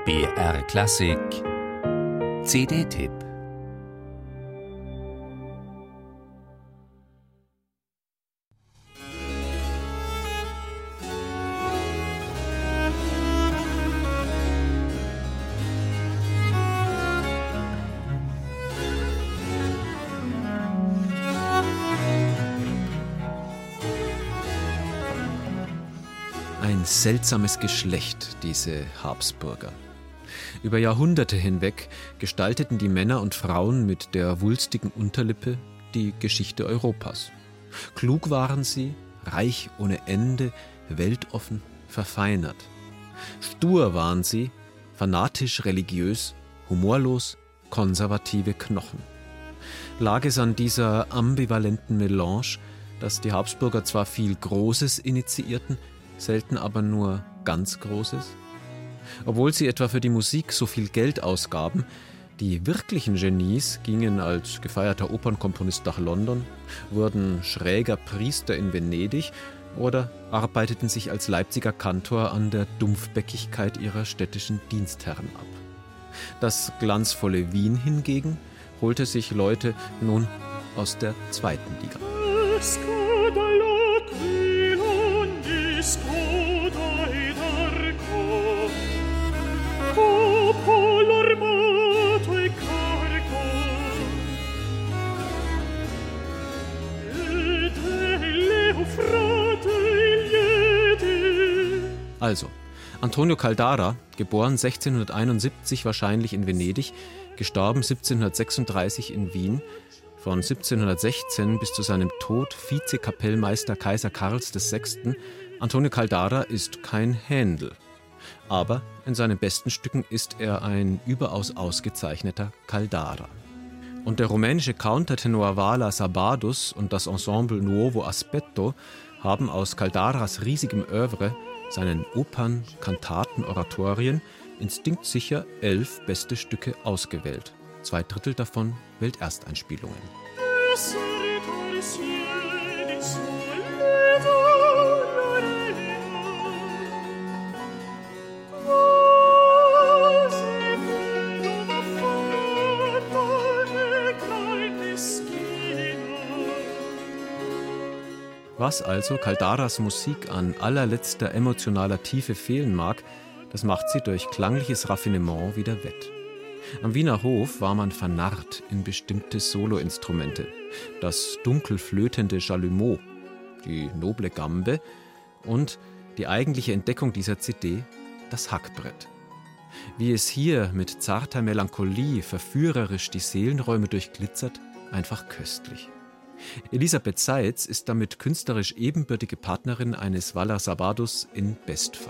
BR Klassik CD-Tipp. Ein seltsames Geschlecht, diese Habsburger. Über Jahrhunderte hinweg gestalteten die Männer und Frauen mit der wulstigen Unterlippe die Geschichte Europas. Klug waren sie, reich ohne Ende, weltoffen, verfeinert. Stur waren sie, fanatisch religiös, humorlos, konservative Knochen. Lag es an dieser ambivalenten Melange, dass die Habsburger zwar viel Großes initiierten, selten aber nur ganz Großes? Obwohl sie etwa für die Musik so viel Geld ausgaben, die wirklichen Genies gingen als gefeierter Opernkomponist nach London, wurden schräger Priester in Venedig oder arbeiteten sich als Leipziger Kantor an der Dumpfbäckigkeit ihrer städtischen Dienstherren ab. Das glanzvolle Wien hingegen holte sich Leute nun aus der zweiten Liga. Also, Antonio Caldara, geboren 1671 wahrscheinlich in Venedig, gestorben 1736 in Wien, von 1716 bis zu seinem Tod Vizekapellmeister Kaiser Karls VI. Antonio Caldara ist kein Händel. Aber in seinen besten Stücken ist er ein überaus ausgezeichneter Caldara. Und der rumänische Countertenor Vala Sabadus und das Ensemble Nuovo Aspetto haben aus Caldaras riesigem Œuvre, seinen Opern, Kantaten, Oratorien, instinktsicher 11 beste Stücke ausgewählt. 2/3 davon Weltersteinspielungen. Was also Caldaras Musik an allerletzter emotionaler Tiefe fehlen mag, das macht sie durch klangliches Raffinement wieder wett. Am Wiener Hof war man vernarrt in bestimmte Soloinstrumente. Das dunkel flötende Chalumeau, die noble Gambe und die eigentliche Entdeckung dieser CD, das Hackbrett. Wie es hier mit zarter Melancholie verführerisch die Seelenräume durchglitzert, einfach köstlich. Elisabeth Seitz ist damit künstlerisch ebenbürtige Partnerin eines Vala Sabadus in Bestform.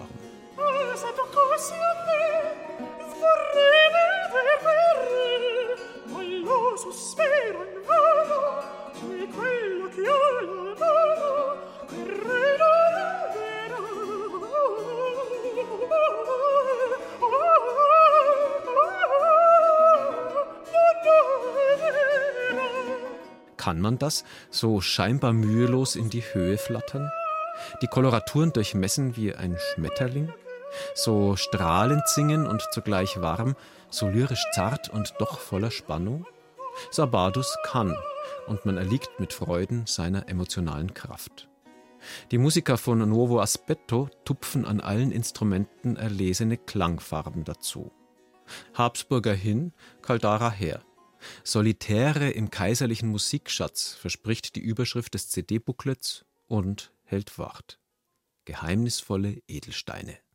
Kann man das so scheinbar mühelos in die Höhe flattern? Die Koloraturen durchmessen wie ein Schmetterling? So strahlend singen und zugleich warm, so lyrisch zart und doch voller Spannung? Sabadus kann, und man erliegt mit Freuden seiner emotionalen Kraft. Die Musiker von Nuovo Aspetto tupfen an allen Instrumenten erlesene Klangfarben dazu. Habsburger hin, Caldara her. Solitäre im kaiserlichen Musikschatz verspricht die Überschrift des CD-Booklets und hält Wort. Geheimnisvolle Edelsteine.